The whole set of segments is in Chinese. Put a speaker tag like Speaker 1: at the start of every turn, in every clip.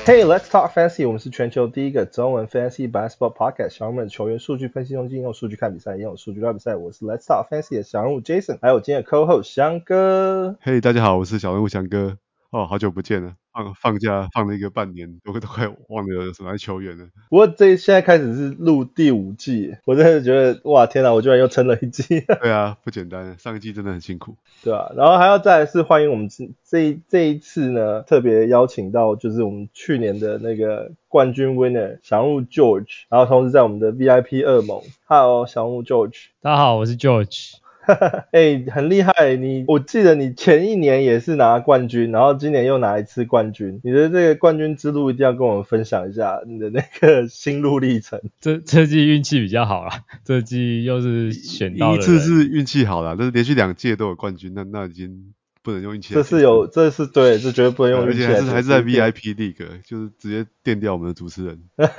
Speaker 1: Hey, let's talk fantasy. 我們是全球第一個中文 fantasy basketball podcast。小人物們球員數據分析中心，用數據看比賽，也用數據聊比賽。我是 Let's talk fantasy 的小人物 Jason， 還有今天的 co-host 翔哥。
Speaker 2: Hey， 大家好，我是小人物翔哥。哦，好久不見了，放假放了一個半年，我都快忘了有什麼球員了。
Speaker 1: 不過現在開始是錄第5季，我真的覺得哇天哪，我居然又撐了1季。
Speaker 2: 對啊，不簡單，上一季真的很辛苦。
Speaker 1: 對啊，然後還要再來是歡迎我們這一次呢，特別邀請到就是我們去年的那個冠軍 winner 小人物 George， 然後同時在我們的 VIP 惡魔 ，Hello 小人物 George。
Speaker 3: 大家好，我是 George。
Speaker 1: 很厲害，我記得你前一年也是拿冠軍，然後今年又拿一次冠軍，你的這個冠軍之路一定要跟我們分享一下你的那個心路歷程。
Speaker 3: 這季運氣比較好啦，這季又是選到了人，
Speaker 2: 一次是運氣好啦，但是連續2屆都有冠軍，那已經不能用運氣來。
Speaker 1: 這是对，這絕對不能用運氣來。
Speaker 2: 而且還是在 VIP League， 就是直接電掉我們的主持人。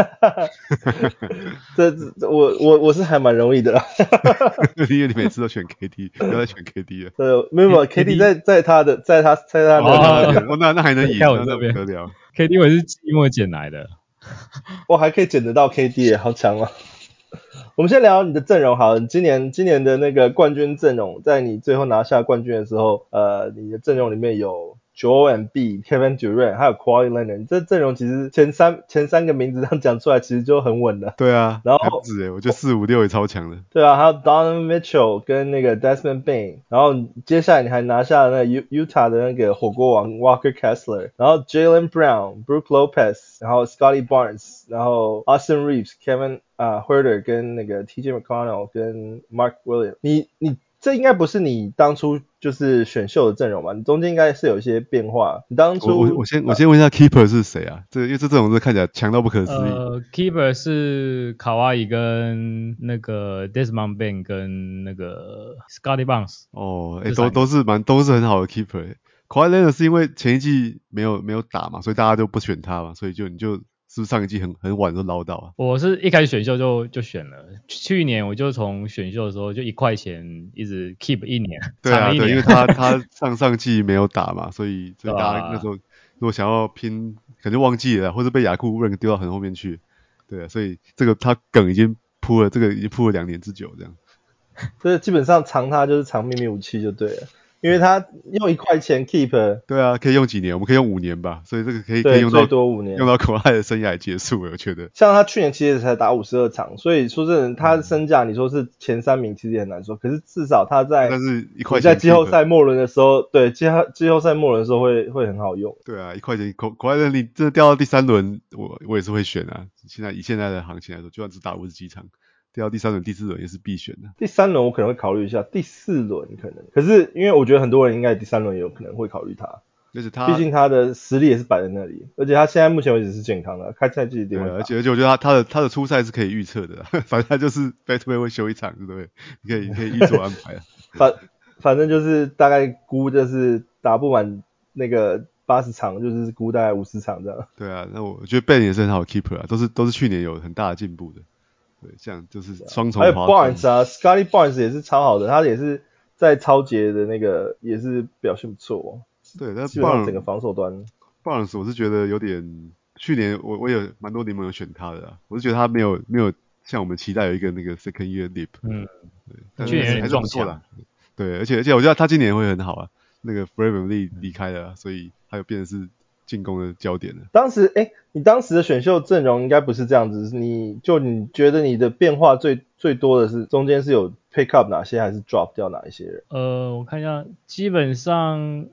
Speaker 1: 我是還蠻容易的啦。
Speaker 2: 因為你每次都選 KD， 不要再選 KD 了。
Speaker 1: 對，沒有 KD 在他的
Speaker 2: 那還能贏，那不得了。
Speaker 3: KD 我是季末撿來的，
Speaker 1: 我還可以撿得到 KD 耶，好強啊！我們先聊你的陣容好了，今年的那個冠軍陣容，在你最後拿下冠軍的時候，你的陣容裡面有 Joel Embiid、Kevin Durant 還有 Kawhi Leonard， 這陣容其實前三個名字這樣講出來其實就很穩了。
Speaker 2: 對啊，
Speaker 1: 然後
Speaker 2: 不止我覺得4、5、6也超強的。
Speaker 1: 對啊，還有 Donovan Mitchell 跟那個 Desmond Bane， 然後接下來你還拿下了那個 Utah 的那個火鍋王 Walker Kessler， 然後 Jaylen Brown、Brook Lopez， 然後 Scotty Barnes， 然後 Austin Reeves、Kevin Huerter 跟那個 TJ McConnell 跟 Mark Williams， 你這应該不是你當初就是選秀的陣容吧？你中間應該是有一些變化。你当初
Speaker 2: 我先問一下 Keeper 是誰啊？因為這陣容看起來強到不可思議。
Speaker 3: Keeper 是卡哇伊跟那個 Desmond Bane 跟那個 Scotty Barnes。
Speaker 2: 哦，都是很好的 Keeper。Kawhi Leonard 是因為前一季沒有打嘛，所以大家就不選他嘛，所以你就是不是上一季很晚就撈到啊？
Speaker 3: 我是一開始選秀就選了，去年我就從選秀的時候就1塊錢一直 keep 1年，
Speaker 2: 對啊，
Speaker 3: 長1年。
Speaker 2: 對，因為他上季沒有打嘛，所以大家那時候如果想要拼，可能就忘記了，或者被雅庫人丟到很後面去，對啊，所以這個他梗已經鋪了2年之久這樣。
Speaker 1: 這基本上藏他就是藏秘密武器就对了。因為他用1塊錢 keep，
Speaker 2: 對啊，可以用幾年？我們可以用5年吧，所以這個可以用到
Speaker 1: 最多5年，
Speaker 2: 用到Kawhi的生涯結束了，我覺得。
Speaker 1: 像他去年其實才打52場，所以說真的，他的身價你說是前3名，其實也很難說。可是至少他在季後賽末輪的時候，對季後賽末輪的時候會很好用。
Speaker 2: 對啊，1塊錢Kawhi的你真的掉到第3輪，我也是會選啊。以現在的行情來說，就算只打50幾場。掉到第3輪、第4輪也是必選的。
Speaker 1: 第3輪我可能會考慮一下，第4輪可能。可是因為我覺得很多人應該第3輪也有可能會考慮他，
Speaker 2: 而且
Speaker 1: 畢竟他的實力也是擺在那裡，而且他現在目前為止是健康的，開賽季一定會打。
Speaker 2: 而且我覺得他的出賽是可以預測的，反正他就是 back-to-back 會休1場，對不對？你可以預做安排啊。
Speaker 1: 反正就是大概估就是打不滿那個80場，就是估大概50場這樣。
Speaker 2: 對啊，那我覺得 Ben 也是很好的 keeper 啊，都是去年有很大的進步的。對，像就是雙重。
Speaker 1: 還有 Barnes 啊 ，Scotty Barnes 也是超好的，他也是在超節的那個也是表現不錯。
Speaker 2: 對，但
Speaker 1: 基本上整個防守端
Speaker 2: Barnes 我是覺得有點，去年我有蠻多聯盟有選他的，我是覺得他沒有像我們期待有一個那個 second year leap。對，
Speaker 3: 去年
Speaker 2: 還是不錯的。對，而且我覺得他今年會很好啊，那個 Fred VanVleet 離開了，所以他又變成是進攻的焦點了。
Speaker 1: 你當時的選秀陣容應該不是這樣子，你覺得你的變化最多的是中間是有 pick up 哪些，還是 drop 掉哪一些人？
Speaker 3: 我看一下，基本上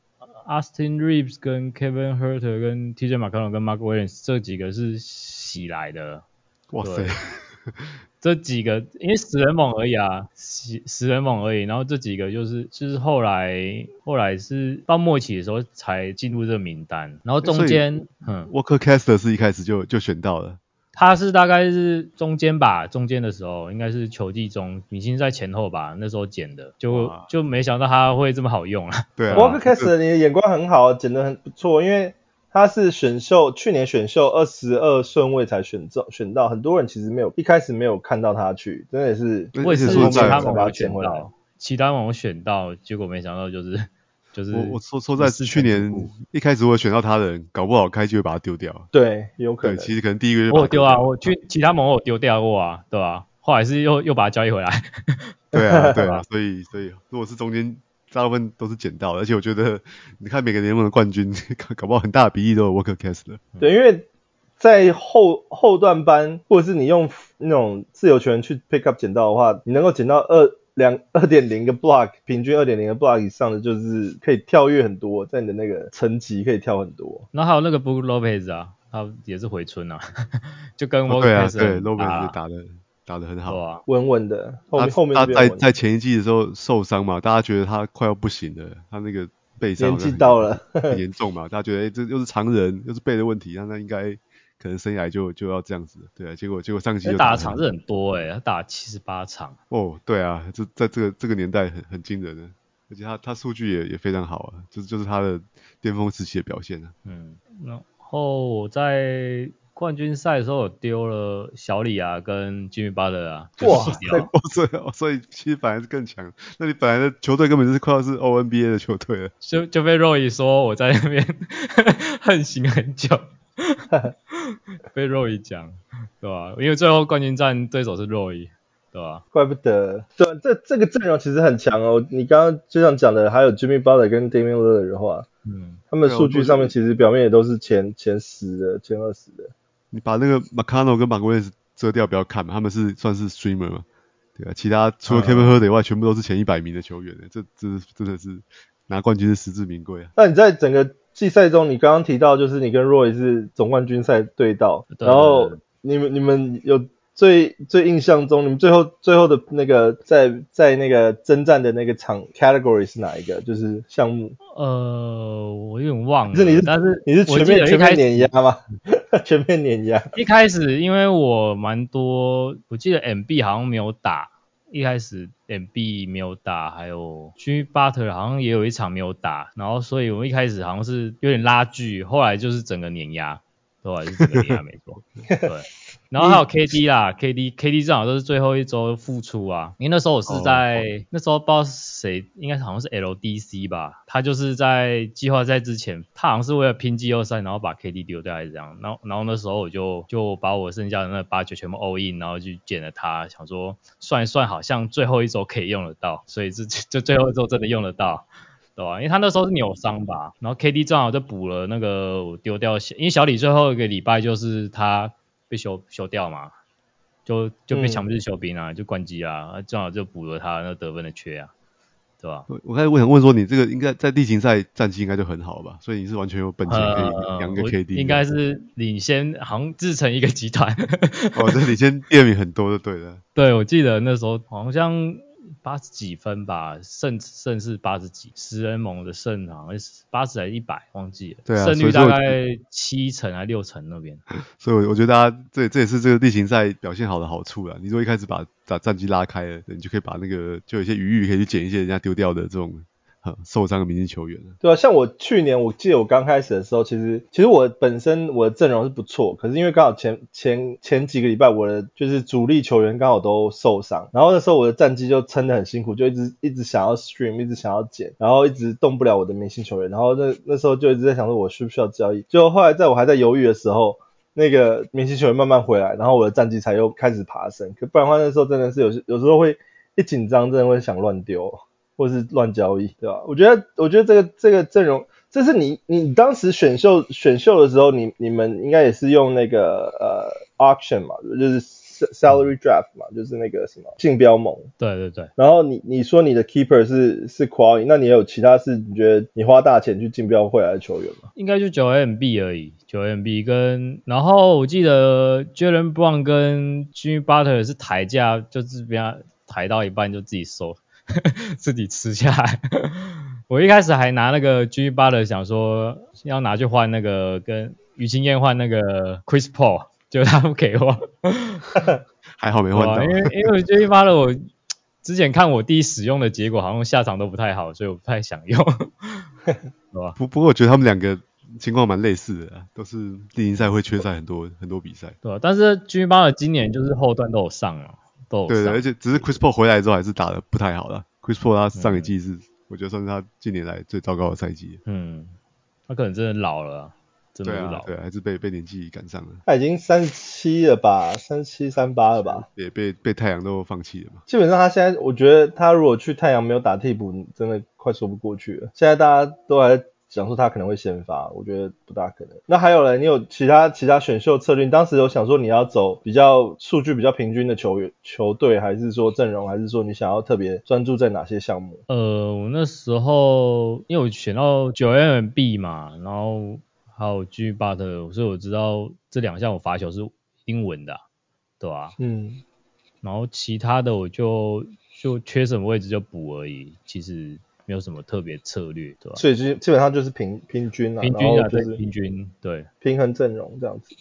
Speaker 3: Austin Reeves 跟 Kevin Huerter 跟 TJ McConnell 跟 Mark Williams 這幾個是洗來的。
Speaker 2: 哇塞！
Speaker 3: 這幾個因為死人猛而已啊，死人猛而已。然後這幾個就是後來是到末期的時候才進入這個名單。然後中間
Speaker 2: Walker Kessler 是一開始就選到了。
Speaker 3: 他是大概是中間的時候應該是球季中，明星在前後吧，那時候撿的，就沒想到他會這麼好用啊。
Speaker 2: 對啊
Speaker 1: ，Walker Kessler 你的眼光很好，撿得很不錯，因為他是去年選秀22順位才選到，很多人其實一開始沒有看到他去，真的是。
Speaker 3: 我也是其他盟有選到，结果沒想到就是就是
Speaker 2: 我說在去年一開始我選到他的人，搞不好開機會把他丟掉。
Speaker 1: 對，有可能。
Speaker 2: 對，其實可能第一個就
Speaker 3: 我有丟啊，我去其他盟我有丢掉過啊，对吧？後來是又把它交易回來。
Speaker 2: 对啊，所以如果是中間大部分都是撿到的，而且我覺得你看每個联盟的冠軍，搞不好很大的比例都有 Walker Kessler。
Speaker 1: 对，因為在後段班，或者是你用那種自由球員去 pick up 撿到的話，你能夠撿到2.0個 block， 平均 2.0 個 block 以上的，就是可以跳躍很多，在你的那個層級可以跳很多。
Speaker 3: 然後還有那個 Brook Lopez 啊，他也是回春啊，就跟
Speaker 2: Walker
Speaker 3: Kessler
Speaker 2: 对 Lopez 打得很好，
Speaker 3: 啊，
Speaker 1: 穩穩的。後面
Speaker 2: 他在前一季的時候受傷嘛，大家覺得他快要不行了，他那個背上
Speaker 1: 年紀到了
Speaker 2: 很嚴重嘛，大家覺得這又是常人，又是背的問題，那應該可能生涯就要這樣子，对啊，結果上季就
Speaker 3: 打的場是很多他打了78场。
Speaker 2: 哦，對啊，在這個年代很驚人的，而且他數據也非常好啊，就是他的巔峰時期的表現啊。
Speaker 3: 然後我在冠軍賽的時候有丟了小李啊跟 Jimmy Butler 啊，
Speaker 1: 哇，
Speaker 2: 所以其實本來是更強，那你本來的球隊根本就是快要是 NBA 的球隊了，
Speaker 3: 就被 Roy 說我在那邊橫行很久。被 Roy 講，對吧？因為最後冠軍戰對手是 Roy， 對吧？
Speaker 1: 怪不得，對，這個陣容其實很強哦。你剛剛就像講的，還有 Jimmy Butler 跟 Damian Lillard 的話，他們數據上面其實表面也都是前10的、前20的。
Speaker 2: 你把那个 McConnell 跟 Marquez 遮掉，不要看嘛，他們是算是 streamer 嘛，對啊，其他除了 Kevin Huerter 以外，全部都是前100名的球員，這真的是拿冠軍是實至名歸啊。
Speaker 1: 那你在整個季賽中，你剛剛提到就是你跟 Roy 是總冠軍賽對到，然後你們有最印象中，你們最後的那個在那個征戰的那個場 category 是哪一個？就是項目？
Speaker 3: 我有點忘了。但是
Speaker 1: 你是全面碾壓嗎？全面碾壓。
Speaker 3: 一開始因為我蠻多，我記得 MB 好像沒有打，一開始 MB 沒有打，還有 Jimmy Butler 好像也有一場沒有打，然後所以我一開始好像是有點拉鋸，後來就是整個碾壓，後來是整個碾壓沒錯，對。然後還有 KD 啦，KD 正好都是最後一周復出啊，因為那時候我是在那時候不知道誰，應該好像是 LDC 吧，他就是在季後賽之前，他好像是為了拼季後賽，然後把 KD 丟掉還是這樣，然後那時候我就把我剩下的那8球全部 all in， 然後就撿了他，想說算一算好像最後一周可以用得到，所以就最後一周真的用得到。對吧？因為他那時候是扭傷吧，然後 KD 正好就補了那個我丟掉，因為小李最後一個禮拜就是他被休掉嘛，就被強制休兵啊，就關機啊，正好就補了他那得分的缺啊，對吧？
Speaker 2: 我想問說，你這個應該在例行賽戰績應該就很好吧？所以你是完全有本錢可以養一個 KD，
Speaker 3: 應該是領先，好像自成一個集團。
Speaker 2: 哦，這領先第2名很多就對了。
Speaker 3: 對，我記得那時候好像80幾分吧，勝是80幾，10人盟的勝好像是80還是100，忘記了。對啊，勝率大概7成還6成那邊。
Speaker 2: 所以我覺得大家這也是這個例行賽表現好的好處啦。你如果一開始把戰績拉開了，你就可以把那個就有一些餘裕可以去撿一些人家丟掉的這種受傷的明星球員了。
Speaker 1: 對啊，像我去年我記得我剛開始的時候，其實我本身我的陣容是不錯，可是因為剛好前幾個禮拜我的就是主力球員剛好都受傷，然後那時候我的戰績就撐得很辛苦，就一直想要 stream， 一直想要撿，然後一直動不了我的明星球員，然後那時候就一直在想說我需不需要交易，就後來在我還在猶豫的時候，那個明星球員慢慢回來，然後我的戰績才又開始爬升，可不然的話那時候真的是有時候會一緊張真的會想亂丟。或是亂交易，對吧？我覺得這個陣容，這是你當時選秀的時候，你們應該也是用那個auction 嘛，就是 salary draft 嘛，就是那個什麼競標盟。
Speaker 3: 對。
Speaker 1: 然後你說你的 keeper 是 Quali， 那你也有其他是你覺得你花大錢去競標回來的球員嗎？
Speaker 3: 應該就9MB 而已，9MB 跟然後我記得 Jaylen Brown 跟 Jimmy Butler 是抬價，就是被他抬到一半就自己收。自己吃下來。我一開始還拿那個 Jimmy Butler 想說要拿去換那個跟於清燕換那個 Chris Paul， 結果他不給我。
Speaker 2: 還好沒換到。
Speaker 3: 因為 Jimmy Butler 我之前看我弟使用的結果好像下場都不太好，所以我不太想用。
Speaker 2: 不過我覺得他們兩個情況蠻類似的，都是例行賽會缺賽很多比賽。
Speaker 3: 對，但是 Jimmy Butler 今年就是後段都有上了。
Speaker 2: 對，而且只是 Chris Paul 回來之後還是打得不太好了。Chris Paul 他上一季是我覺得算是他近年來最糟糕的賽季。
Speaker 3: 他可能真的老了啊，真的是老了。
Speaker 2: 对啊，还是被年紀趕上了。
Speaker 1: 他已經37了吧，37、38了吧？
Speaker 2: 也被太陽都放棄了嘛。
Speaker 1: 基本上他現在，我覺得他如果去太陽沒有打替補，真的快說不過去了。現在大家都還在講說他可能會先發，我覺得不大可能。那還有呢？你有其他選秀策略？你當時有想說你要走比較數據比较平均的球隊，還是說陣容，還是說你想要特別專注在哪些項目？
Speaker 3: 我那時候因為我選到9MB 嘛，然後還有 G 巴特，所以我知道這兩項我罰球是一定穩的，對吧？然後其他的我就缺什麼位置就補而已，其實沒有什麼特別策略，對吧？
Speaker 1: 所以基本上就是平均啊，
Speaker 3: 平均啊，
Speaker 1: 就是
Speaker 3: 对，平均，对，
Speaker 1: 平衡陣容這樣子。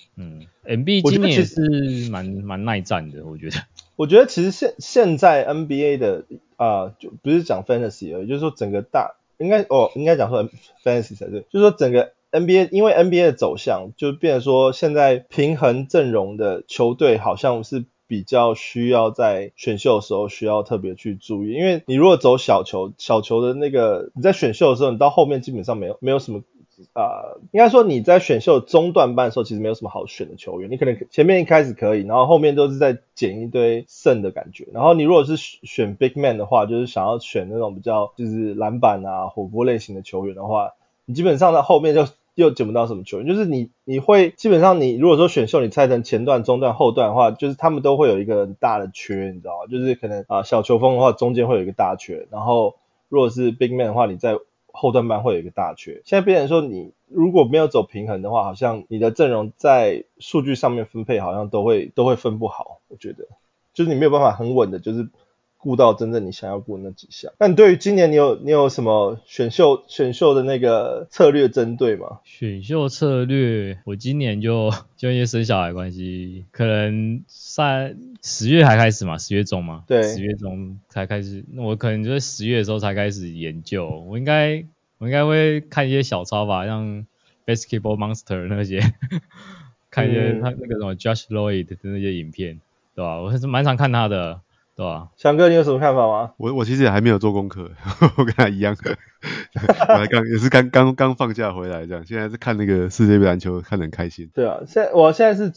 Speaker 3: MB 今年也是蠻耐戰的，我覺得。
Speaker 1: 我覺得其實現在 NBA 的就不是講 Fantasy 而已，就是說整個應該講說 Fantasy 才對，就是說整個 NBA， 因為 NBA 的走向就變成說現在平衡陣容的球隊好像是比較需要在選秀的時候需要特別去注意，因為你如果走小球的那個，你在選秀的時候，你到後面基本上没有什么應該說你在選秀中段班的时候，其實沒有什麼好選的球員，你可能前面一開始可以，然後後面都是在撿一堆剩的感覺。然後你如果是選 Big Man 的話，就是想要選那種比較就是籃板啊、火鍋類型的球員的話，你基本上在後面就又撿不到什麼球员，就是你會基本上你如果說選秀你拆成前段、中段、後段的話，就是他们都會有一個很大的缺，你知道嗎？就是可能小球風的話中間會有一個大缺，然後如果是 Big Man 的話，你在後段班會有一個大缺。現在變成說你如果沒有走平衡的話，好像你的陣容在數據上面分配好像都會分不好，我覺得就是你沒有辦法很穩的，就是顧到真正你想要顧的那幾項。那你對於今年你有什麼選秀的那個策略針對嗎？選
Speaker 3: 秀策略，我今年就因為生小孩關係，可能在10月才開始嘛，10月中嘛，
Speaker 1: 對
Speaker 3: ，10月中才開始，那我可能就在10月的時候才開始研究，我應該會看一些小抄吧，像 Basketball Monster 那些，看一些他那個什麼 Josh Lloyd 的那些影片，對吧？我還是蠻常看他的。对吧？
Speaker 1: 翔哥，你有什麼看法嗎？
Speaker 2: 我其實也還沒有做功課，我跟他一樣，我也是剛放假回來這樣，現在是看那個世界杯籃球，看得很開心。
Speaker 1: 對啊，現在是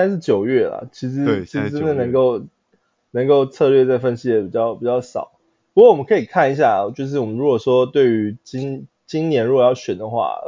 Speaker 1: 9月啦，其實真的能夠策略再分析的比較少。不過我們可以看一下，就是我們如果說對於今年如果要選的話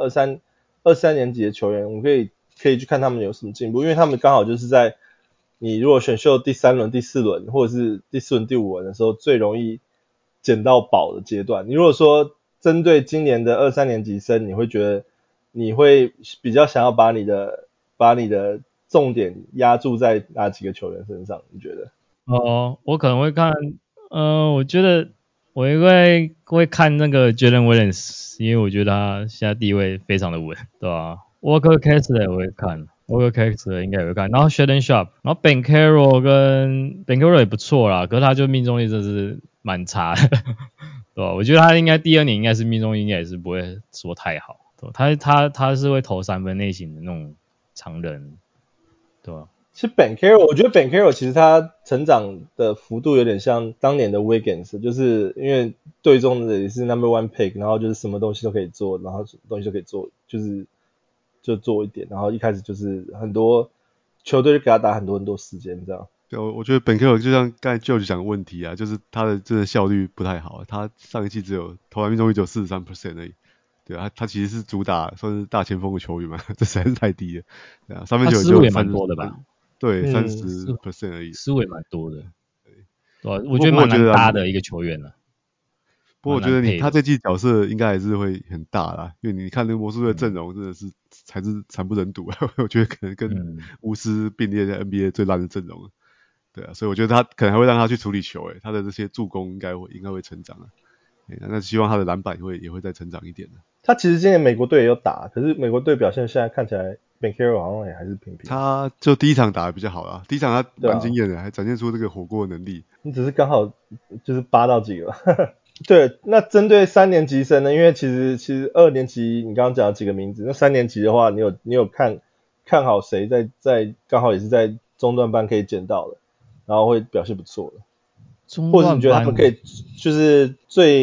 Speaker 1: ，23年級的球員，我們可以去看他們有什麼進步，因為他們剛好就是在你如果選秀第3輪、第4輪，或者是第4輪、第5輪的時候，最容易撿到寶的階段。你如果說針對今年的23年級生，你會覺得你會比較想要把你的重點壓注在哪幾個球員身上？你覺得？
Speaker 3: 我可能會看，我覺得我應該會看那個 Jalen Williams， 因為我覺得他現在地位非常的穩，對吧？Walker Kessler 我會看。Walker Kessler 應該也會看，然後 Shaedon Sharpe， 然後 Banchero 也不錯啦，可是他就命中率真是蠻差的，對吧？我覺得他應該第2年應該是命中率應該也是不會說太好，對吧？他是會投3分類型的那種長人，對吧？
Speaker 1: 其實 Banchero， 我覺得 Banchero 其實他成長的幅度有點像當年的 Wiggins， 就是因為隊中的也是 No.1 pick， 然後就是什麼東西都可以做，然後什麼東西都可以做，就做一點，然後一開始就是很多球隊就給他打很多時間這樣。
Speaker 2: 對，我覺得Banchero就像剛才 George 講的問題啊，就是他的真的效率不太好，他上一季投籃命中率只有 43% 而已。对啊，他其實是主打算是大前鋒的球員嘛，這實在是太低了。对啊，三分球
Speaker 3: 失誤也蠻多的吧？
Speaker 2: 對，30% 而已。
Speaker 3: 失誤也蠻多的。對，我覺得蠻難搭的一個球員了。
Speaker 2: 不過我覺得他這季角色應該還是會很大啦，因為你看那個魔術隊陣容真的是才是慘不忍睹啊！我覺得可能跟巫師並列在 NBA 最爛的陣容。對啊，所以我覺得他可能還會讓他去處理球，他的這些助攻應該會成長啊。那希望他的籃板也會再成長一點的。
Speaker 1: 他其實今年美國隊也有打，可是美國隊表現現在看起來 Banchero 好像也還是平平。
Speaker 2: 他就第一場打得比較好啦，第一場他蠻驚豔的，還展現出這個火鍋的能力。
Speaker 1: 你只是剛好就是扒到幾個。對，那針對3年級生呢？因為其實2年級你剛剛講了幾個名字，那3年級的話，你有看好誰在剛好也是在中段班可以撿到的，然後會表現不錯的，或者是你覺得他們可以就是最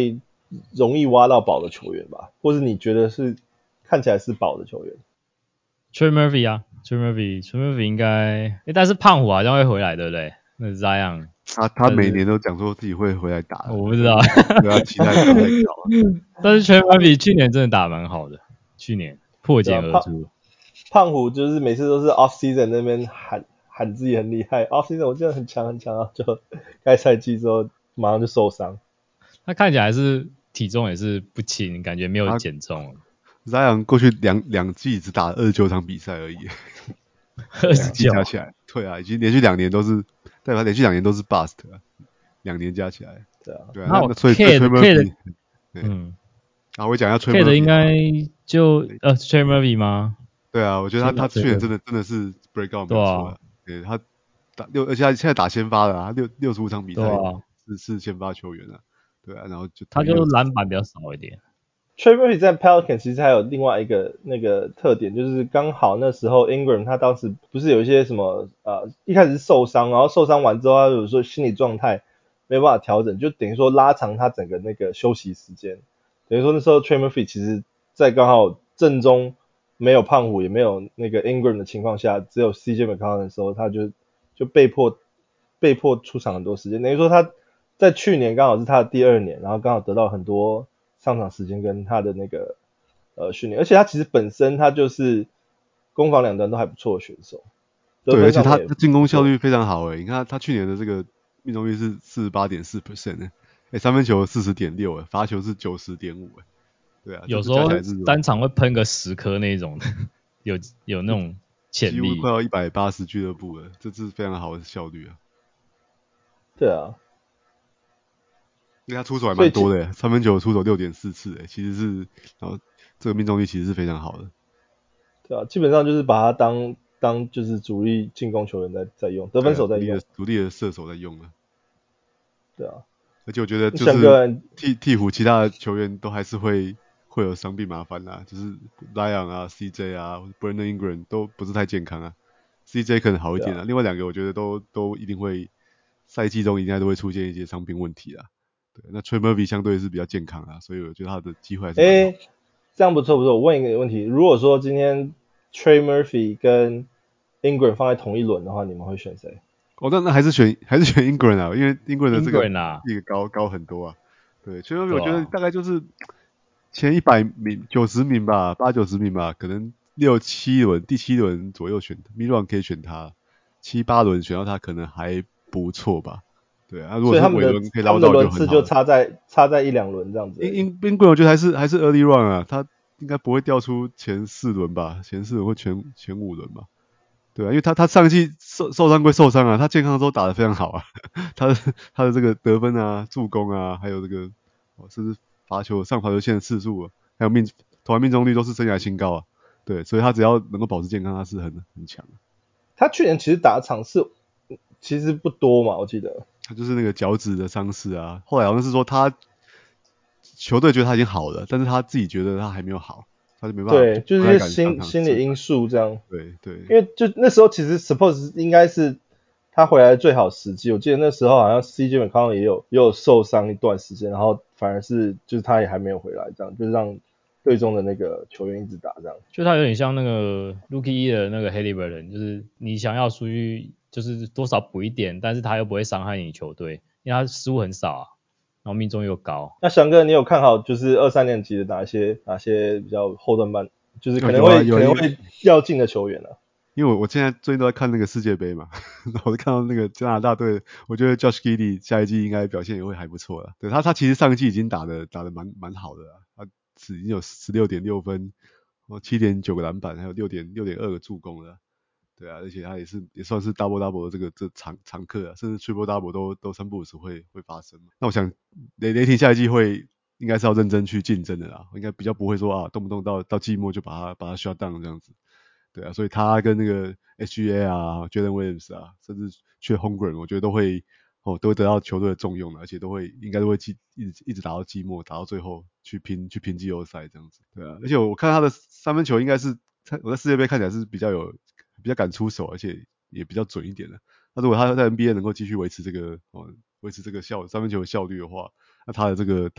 Speaker 1: 容易挖到寶的球員吧，或是你覺得是看起來是寶的球員
Speaker 3: Trey Murphy 啊 Trey Murphy 應該，但是胖虎好像會回來，对不對？那 Zion
Speaker 2: 他每年都講說自己會回來打，
Speaker 3: 我不知道，
Speaker 2: 對他期待不要太高。
Speaker 3: 但是 Trey Murphy 去年真的打蠻好的，去年破繭而出。
Speaker 1: 胖虎就是每次都是 off season 那邊喊自己很厲害 ，off season 我记得很強很強啊，就開賽季之後馬上就受傷。他
Speaker 3: 看起來還是體重也是不輕，感覺沒有減重。
Speaker 2: Zion 過去兩季只打29場比賽而已，2季加起來，對啊，已經連續2年都是，代表連續2年都是 bust 啊，2年加起來，對啊，那所以
Speaker 3: Trey Murphy，
Speaker 2: 我講一下 Trey
Speaker 3: Murphy 應該就Trey Murphy 嗎？
Speaker 2: 对啊，我覺得他去年真的是 break out 沒有錯，對他而且他現在打先發了，他65場比賽是先發球員啊，對啊，然後
Speaker 3: 他就籃板比較少一點。
Speaker 1: Trey Murphy 在 Pelicans 其實還有另外一個那個特點，就是剛好那時候 Ingram 他當時不是有一些什麼一開始是受傷，然後受傷完之後他有時候心理狀態沒有辦法調整，就等於說拉長他整個那個休息時間，等於說那時候 Trey Murphy 其實在剛好正中沒有胖虎也沒有那個 Ingram 的情況下，只有 CJ McCollum 的時候，他就被迫出場很多時間，等於說他在去年剛好是他的第2年，然後剛好得到很多上場時間跟他的那個訓練，而且他其實本身他就是攻防两端都還不錯的選手，
Speaker 2: 對，而且他進攻效率非常好你看他去年的這個命中率是 48.4% 三分球 40.6 罰球是 90.5 對啊，
Speaker 3: 有時候單場會噴個10顆那種有那種潛力，
Speaker 2: 幾乎快要180俱樂部了，這是非常好的效率啊。
Speaker 1: 對啊，
Speaker 2: 因為他出手還蠻多的三分球出手 6.4 次其實是，然後這個命中率其實是非常好的。
Speaker 1: 对啊，基本上就是把他當就是主力進攻球員在用，得分手在用，
Speaker 2: 独立的射手在用了。
Speaker 1: 对啊，
Speaker 2: 而且我觉得就是鹈鶘其他的球員都還是會有傷病麻煩啦，就是 Zion 啊、CJ 啊、Brandon Ingram 都不是太健康啊。CJ 可能好一點另外2個我覺得都一定會賽季中應該都會出現一些傷病問題啦。對，那 Trey Murphy 相對是比較健康所以我覺得他的機會還是蠻好。
Speaker 1: 這樣不錯。我問一個問題，如果說今天 Trey Murphy 跟 Ingram 放在同一輪的話，你們會選誰？
Speaker 2: 那還是選 Ingram 因為 Ingram 的這個高很多啊。對，Trey Murphy 我覺得大概就是前100名、90名吧，80-90名吧，可能6、7輪，第7輪左右選 Mid-round 可以選他，7、8輪選到他可能還不錯吧。對啊，如果是尾輪可以撈到就很好。他們的輪次
Speaker 1: 就差在1-2輪這樣子。
Speaker 2: Ingram 我覺得還是 early run 啊，他應該不會掉出前4輪吧，前4輪或前5輪吧。對啊，因為他上一季受傷歸受傷啊，他健康的時候打得非常好啊，他的這個得分啊、助攻啊，還有這個甚至上罰球線的次數還有投籃命中率都是生涯新高啊。對，所以他只要能夠保持健康，他是很強的。
Speaker 1: 他去年其實打的場次其實不多嘛，我記得。
Speaker 2: 他就是那個腳趾的傷勢啊，後來好像是說他球隊覺得他已經好了，但是他自己覺得他還沒有好，他就沒辦法。
Speaker 1: 對，就是一些心理因素這樣。
Speaker 2: 對，
Speaker 1: 因為就那時候其實 suppose 應該是他回來的最好時機，我記得那時候好像 CJ McCollum 也有受傷一段時間，然後反而是就是他也還沒有回來，這樣就是讓隊中的那個球員一直打這樣。
Speaker 3: 就他有點像那個 Rookie 的那個 Haliburton， 就是你想要出去就是多少補一點，但是他又不會傷害你球隊，因為他失誤很少啊，然後命中又高。那
Speaker 1: 翔哥，你有看好就是2-3年級的哪些比較後段班，就是可能會要進的球員呢？
Speaker 2: 因為我現在最近都在看那個世界杯嘛，我就看到那個加拿大隊，我覺得 Josh Giddey 下一季應該表現也會還不錯了。對，他其實上一季已經打得蠻好的了，他已經有 16.6 分，7.9 個籃板，還有6.2個助攻了。對啊，而且他也算是 double double 的這常客啊，甚至 triple double 都3不5時會發生。那我想雷霆下一季應該是要認真去競爭的啦，應該比較不會說動不動到季末就把他 shut down 這樣子。對啊，所以他跟那個 SGA 啊、Jalen Williams 啊，甚至去 Holmgren 我覺得都會得到球隊的重用的，而且應該都會一直打到季末，打到最後去拼季後賽這樣子。對啊，而且我看他的三分球應該是我在世界杯看起來是比較敢出手，而且也比較準一點的。那如果他在 NBA 能夠繼續維持這個三分球的效率的話， 那他的這個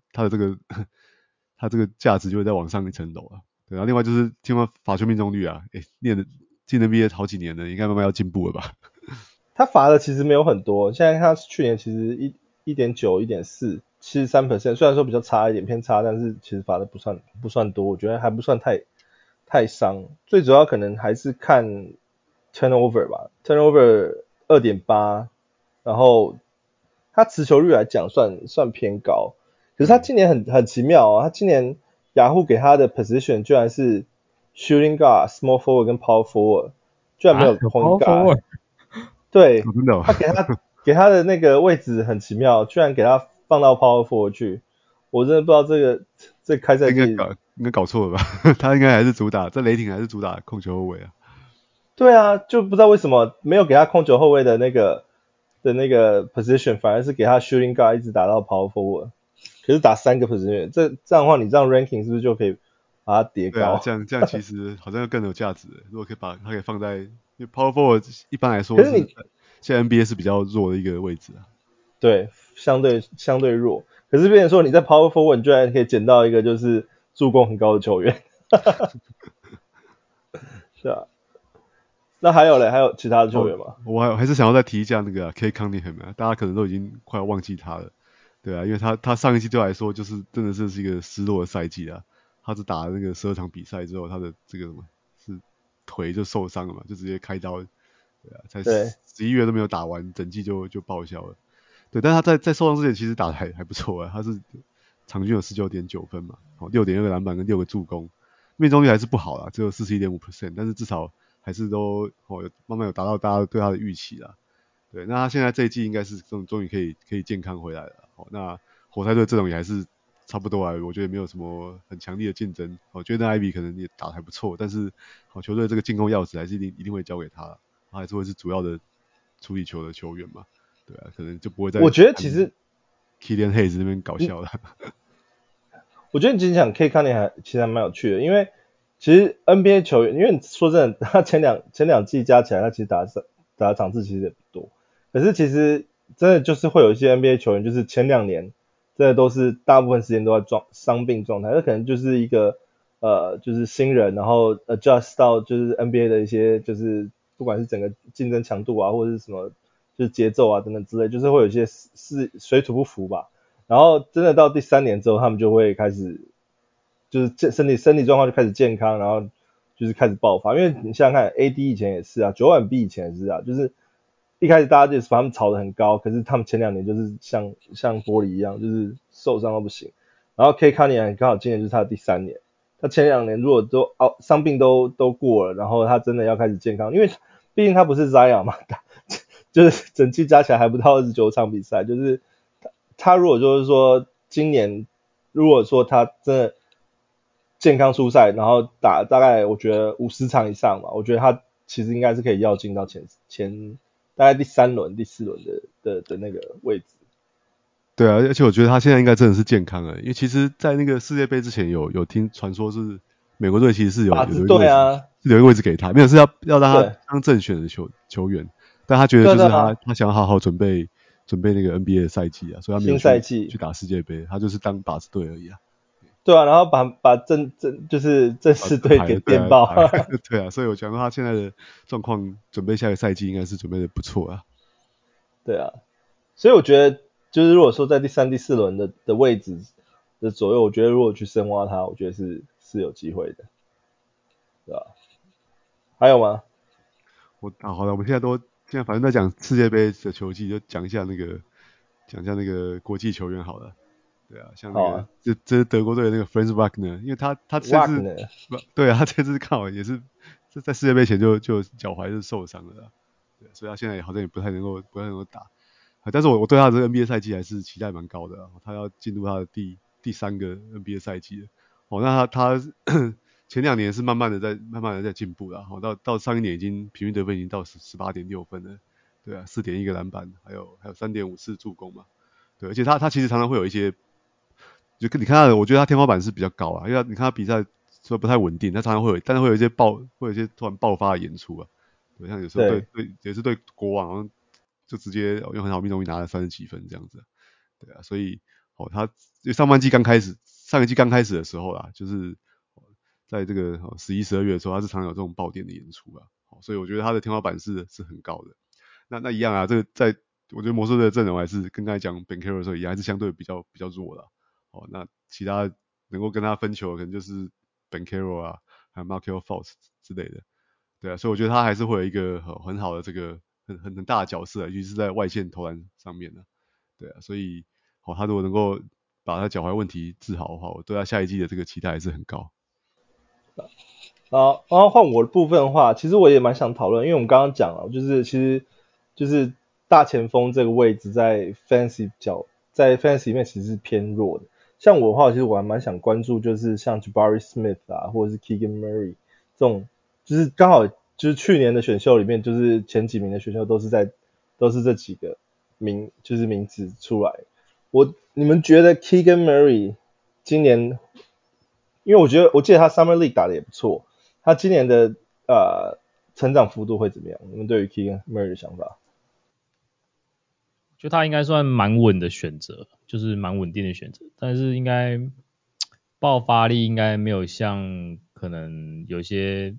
Speaker 2: 他這個價值就會再往上一層樓啊。對，然後另外就是聽說罰球命中率啊，練的進 NBA 好幾年了，應該慢慢要進步了吧？
Speaker 1: 他罰的其實沒有很多，現在他去年其實1.9、1.4、73%，雖然說比較差一點，偏差，但是其實罰的不算多，我覺得還不算太傷。最主要可能還是看 turnover 吧 ，turnover 2.8，然後他持球率來講算偏高，可是他今年很奇妙啊，他今年雅虎給他的 position 居然是 shooting guard、small forward 跟 power forward， 居然沒有 point guard。对，他給他的那個位置很奇妙，居然給他放到 power forward 去，我真的不知道這開賽季
Speaker 2: 應該搞錯了吧？他應該還是主打在雷霆還是主打控球後衛啊？
Speaker 1: 對啊，就不知道為什麼沒有給他控球後衛的那個 position， 反而是給他 shooting guard 一直打到 power forward， 可是打3個 position， 這樣的話你這樣 ranking 是不是就可以把它疊高？
Speaker 2: 對啊，這樣其實好像更有價值。如果可以把它給放在，因為 power forward 一般來說是現在 NBA 是比較弱的一個位置啊。
Speaker 1: 對，相對弱。可是變成說你在 power forward 你居然可以撿到一個就是助攻很高的球員，是啊。那還有其他的球員嗎？
Speaker 2: 我還是想要再提一下那個Cade Cunningham啊，大家可能都已經快要忘記他了，對啊，因為他上一季对我來說就是真的是一個失落的賽季啊。他只打了那個12場比賽之後，他的這個什麼是腿就受傷了嘛，就直接開刀，對啊，才11月都沒有打完，整季就報銷了。對，但他在受傷之前其實打得還不錯啊，他是場均有 19.9 分嘛，6.2個籃板跟6個助攻，命中率還是不好啦，只有 41.5%， 但是至少還是都慢慢有達到大家對他的預期啦。對，那他現在這一季應該是終於可以健康回來了。那活塞隊陣容也還是差不多啊，我覺得沒有什麼很強力的競爭。我覺得 Ivy 可能也打得還不錯，但是球隊這個進攻鑰匙還是一定會交給他，他還是會是主要的處理球的球員嘛。對啊，可能就不會再
Speaker 1: 我覺得其實
Speaker 2: Killian Hayes 那邊搞笑了。
Speaker 1: 我覺得你今天講 Cade Cunningham 其實還蠻有趣的，因為其實 NBA 球員，因為說真的，他前兩季加起來，他其實打的場次其實也不多。可是其實真的就是會有一些 NBA 球員，就是前2年真的都是大部分時間都在傷病狀態，那可能就是一個就是新人，然後 adjust 到就是 NBA 的一些就是不管是整個競爭強度啊，或者是什麼就是節奏啊等等之類，就是会有一些是水土不服吧。然後真的到第3年之後，他們就會開始就是身体狀況就開始健康，然後就是開始爆發。因為你想想看 ，AD 以前也是啊，9晚 B 以前也是啊，就是一開始大家就是把他們炒得很高，可是他們前2年就是像玻璃一樣，就是受傷到不行。然後 Cade Cunningham 剛好今年就是他的第3年，他前2年如果都傷病都過了，然後他真的要開始健康，因为畢竟他不是 Zion 嘛，就是整季加起來還不到29場比賽，就是他如果就是說今年如果說他真的健康出賽，然後打大概我覺得50場以上嘛，我覺得他其實應該是可以躍進到前大概第3輪、第4輪的那個位置。
Speaker 2: 對啊，而且我覺得他現在應該真的是健康了，因為其實，在那個世界盃之前有聽傳說是美國隊其實是有一個位置，
Speaker 1: 對啊，
Speaker 2: 是有一個位置給他，沒有是要讓他當正選的球員，但他覺得就是他想要好好準備那個 NBA 的賽季啊，所以他沒有去打世界盃，他就是當靶子隊而已啊。
Speaker 1: 對啊，然後把就是正式隊給電爆。
Speaker 2: 對啊，所以我想說他現在的狀況，準備下個賽季應該是準備的不錯啊。
Speaker 1: 對啊，所以我覺得就是如果說在第3、第4輪的位置的左右，我覺得如果去深挖他，我覺得是有機會的，對吧？還有嗎？
Speaker 2: 好了，我們現在反正在講世界盃的球季，就講一下那個國際球員好了。對啊，像那個這是德國隊的那個 Franz Wagner， 因為他甚至對啊，他這次剛好也是在世界盃前就腳踝是受傷了啦，對，所以他現在好像也不太能夠打。但是我對他的這個 NBA 賽季還是期待蠻高的，他要進入他的第3個 NBA 賽季了。那他前2年是慢慢的在進步了，到上一年已經平均得分已經到 18.6 分了，對啊， 4.1 個籃板，還有 3.5 次助攻嘛，對，而且他其實常常會有一些，就你看他，我覺得他天花板是比較高啊，因為你看他比賽說不太穩定，他常常但是會有一些突然爆發的演出啊，對，像有時候也是对國王就直接用很好命中率拿了30幾分這樣子，對啊，所以他上一季剛開始的時候啦，就是在這個11、12月的時候，他是常有這種爆點的演出啊，所以我覺得他的天花板是很高的。那一樣啊，这個我覺得魔術隊的陣容還是跟剛才講 Banchero 的時候一樣，還是相對比較弱的。那其他能夠跟他分球的可能就是 Banchero 啊，還有 Markelle Fultz 之類的。對啊，所以我覺得他還是會有一個很好的這個很大的角色，尤其是在外線投籃上面的。對啊，所以他如果能夠把他腳踝問題治好的話，我對他下一季的這個期待還是很高。
Speaker 1: 然後換我的部分的話，其實我也蠻想討論，因為我們剛剛講了，就是大前鋒這個位置在 Fantasy 裡面其實是偏弱的。像我的話，其實我還蠻想關注，就是像 Jabari Smith 啊，或者是 Keegan Murray 這種，就是剛好就是去年的選秀裡面，就是前幾名的選秀都是這幾個名字出來。你們覺得 Keegan Murray 今年，因為我記得他 Summer League 打得也不錯，他今年的成長幅度會怎麼樣？你們對於 Keegan Murray 的想法？
Speaker 3: 就他應該算蠻穩的選擇，就是蠻穩定的選擇，但是應該爆發力應該沒有像可能有些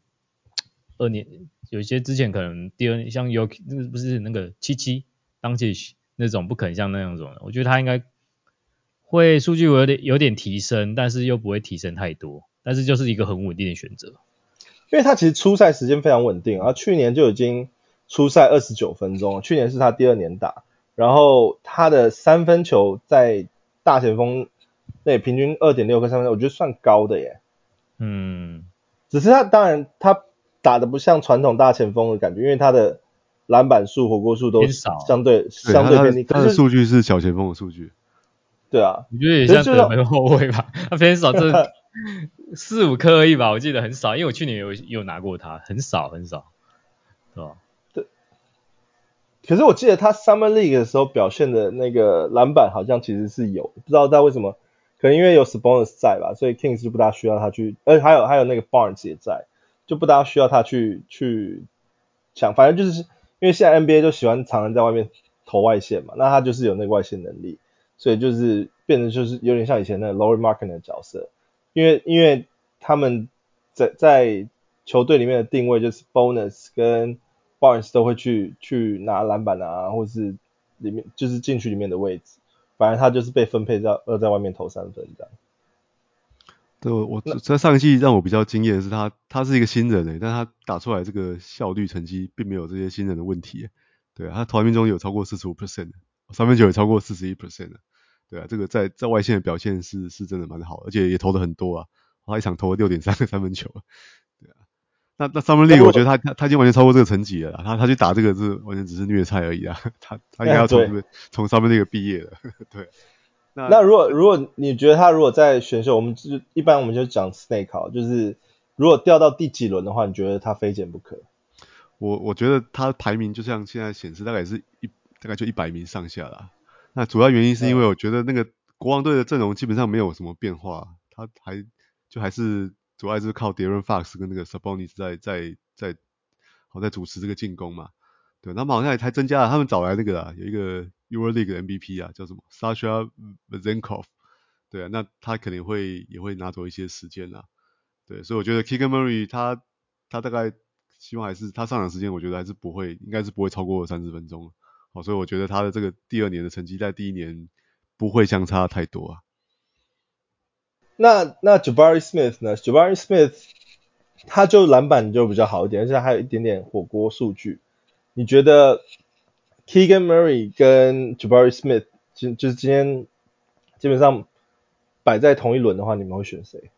Speaker 3: 之前可能第二年像不是那個77 Doncic 那種不可能像那樣種的，我覺得他應該會數據有點提升，但是又不會提升太多，但是就是一個很穩定的選擇。
Speaker 1: 因為他其實出賽時間非常穩定，然後去年就已經出賽29分鐘，去年是他第2年打。然後他的三分球在大前鋒內平均 2.6 個三分球，我覺得算高的耶。只是他当然他打得不像傳統大前鋒的感覺，因為他的籃板數、火鍋數都相對偏低。
Speaker 2: 他的數據是小前鋒的數據。
Speaker 1: 對啊，
Speaker 3: 我覺得也像得分後衛吧，他偏少，這4-5顆而已吧，我記得很少，因為我去年有拿過他，很少，对吧？
Speaker 1: 可是我記得他 Summer League 的時候表現的那個籃板好像其實是有，不知道他為什麼，可能因為有 Sabonis 在吧，所以 Kings 就不大需要他去，還有那個 Barnes 也在，就不大需要他去搶，反正就是因為現在 NBA 就喜歡常常在外面投外線嘛，那他就是有那個外線能力，所以就是變成就是有點像以前那個 Lauri Markkanen 的角色，因為他們在球隊裡面的定位就是 Bonus 跟Barnes 都會去拿籃板啊，或是裡面就是禁區裡面的位置，反正他就是被分配在外面投3分這樣。
Speaker 2: 對，我在上一季讓我比較驚艷的是他是一個新人但他打出來這個效率成績並沒有這些新人的問題。對啊，他投籃命中有超過 45%， 三分球也超過 41%。對啊，這個在外線的表現是真的蠻好的，而且也投得很多啊，他一場投了 6.3 個三分球。對啊。那 Summer League 我覺得他已經完全超過這個成績了啦，他去打這個是完全只是虐菜而已啊，他應該要從Summer League畢業了。對。
Speaker 1: 那如果你覺得他如果在選秀，一般我們就講 Snake 好，就是如果掉到第幾輪的話，你覺得他非減不可？
Speaker 2: 我覺得他排名就像現在顯示，大概就100名上下啦。那主要原因是因為我覺得那個國王隊的陣容基本上沒有什麼變化，他還是主要是靠 De'Aaron Fox 跟那個 Sabonis 在主持這個進攻嘛。對，他們好像還增加了，他們找來那個啦，有一個 EuroLeague 的 MVP 啊，叫什麼 Sasha Vezenkov。對啊，那他可能也會拿走一些時間啦。對，所以我覺得 Keegan Murray 他大概希望還是他上場時間，我覺得還是應該是不會超過30分鐘。好，所以我覺得他的這個第2年的成績在第1年不會相差太多啊。
Speaker 1: 那 Jabari Smith 呢 ？Jabari Smith 他就籃板就比較好一點，而且還有一點點火鍋數據。你覺得 Keegan Murray 跟 Jabari Smith 就是今天基本上擺在同一輪的話，你們會選誰？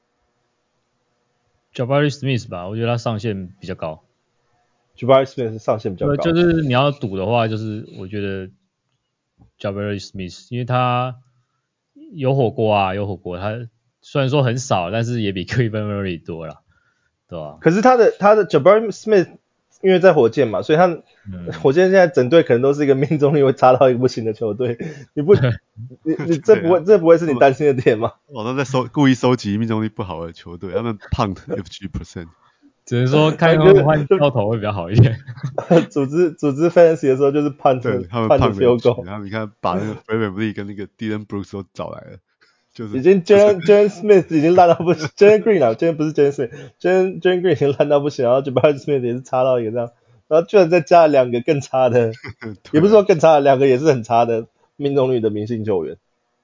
Speaker 3: Jabari Smith 吧，我覺得他上限比較高。
Speaker 1: Jabari Smith 上限比較高，
Speaker 3: 就是你要賭的話，就是我覺得 Jabari Smith， 因為他有火鍋，他雖然說很少，但是也比 Keegan Murray 多啦，對吧？
Speaker 1: 可是他的 Jabari Smith 因為在火箭嘛，所以他火箭現在整隊可能都是一個命中率會差到一個不行的球隊，你這不會是你擔心的點嗎？
Speaker 2: 他在故意收集命中率不好的球隊，他們 punt FG%。
Speaker 3: 只能說看他們換掉頭會比較好一點。
Speaker 1: 組織 fantasy 的時候就是判着 field goal，
Speaker 2: 然後你看把那個 Fred VanVleet 跟那個 Dillon Brooks 都找來了，就是
Speaker 1: 已經 Jalen Smith 已經爛到不行，Jalen Green 啊，今天不是 Jalen Smith，Jalen Green 已經爛到不行，然後 Jabari Smith 也是差到一個這樣，然後居然再加了2個更差的，也不是說更差的，2個也是很差的命中率的明星球員。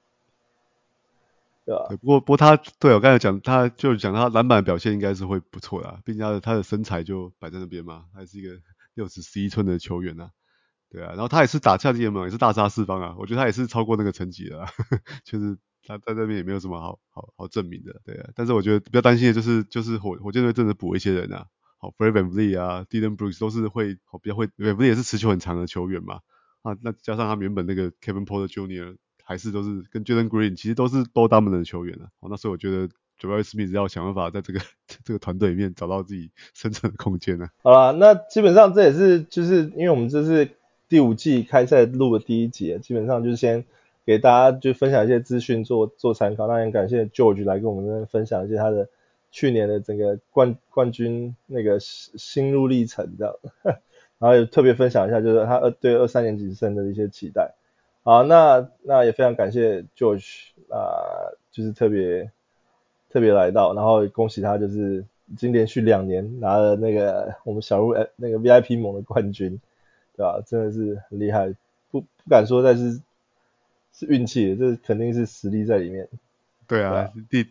Speaker 1: 对吧？
Speaker 2: 不過他對我剛才講，他就講他籃板表現應該是會不錯的，畢竟他的身材就擺在那邊嘛，他是一個61寸的球員啊，對啊，然後他也是打夏季聯盟也是大殺四方啊，我覺得他也是超過那個成績的啦，就是他在那邊也沒有什麼好證明的，對啊，但是我覺得比較擔心的就是火箭隊真的補一些人啊，好 Fred VanVleet 啊 Dillon Brooks 都是比較會 VanVleet 也是持球很長的球員嘛，啊，那加上他們原本那個 Kevin Porter Jr. 還是都是跟 Jalen Green 其實都是ball dominant的球员啊，那所以我覺得 Jabari Smith 要想辦法在這個團隊裡面找到自己生存的空間啊。
Speaker 1: 好啦，那基本上這也是就是因為我們這是第5季開賽錄的第1集，基本上就是先給大家就分享一些資訊做參考。那也感謝 George 來跟我們這邊分享一些他的去年的整個冠軍那個心路歷程這樣，然後也特別分享一下就是他對23年級生的一些期待。好，那也非常感謝 George 就是特別来到，然後恭喜他就是已經連續2年拿了那個我們小鹿那個 VIP 盟的冠軍，對吧？真的是很厲害，不敢說，但是運氣，這肯定是實力在裡面。
Speaker 2: 對啊，第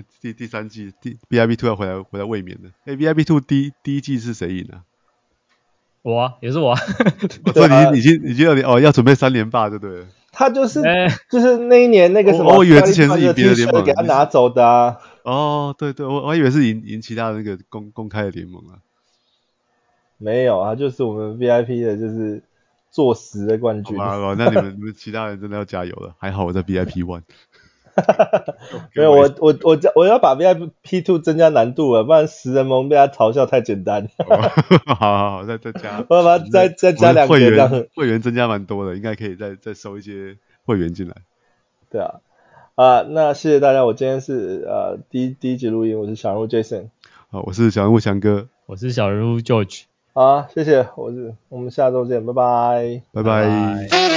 Speaker 2: 3季VIP2 要回來衛冕的。VIP2 第一季是誰贏啊？
Speaker 3: 我啊，也是我啊。
Speaker 2: 所以你已經要準備3連霸，對不對？
Speaker 1: 他就是那一年那個什麼，
Speaker 2: 我以為之前是贏別的聯盟，
Speaker 1: 給他拿走的啊。
Speaker 2: 哦，對，我還以為是贏其他的那個公開的聯盟啊。
Speaker 1: 沒有啊，就是我們 VIP 的就是坐實的冠軍。
Speaker 2: 好吧，那你們其他人真的要加油了。還好我在 VIP1。
Speaker 1: 沒有，我要把 VIP2 增加難度了，不然10人盟被他嘲笑太簡單。
Speaker 2: 好，再加。
Speaker 1: 我把再加2個這樣。
Speaker 2: 會員增加蠻多的，應該可以再收一些會員進來。
Speaker 1: 對啊，那謝謝大家，我今天是第一集錄音，我是小人物 Jason。
Speaker 2: 好，我是小人物翔哥。
Speaker 3: 我是小人物 George。
Speaker 1: 好，謝謝，我們下周見，拜拜。
Speaker 2: 拜拜。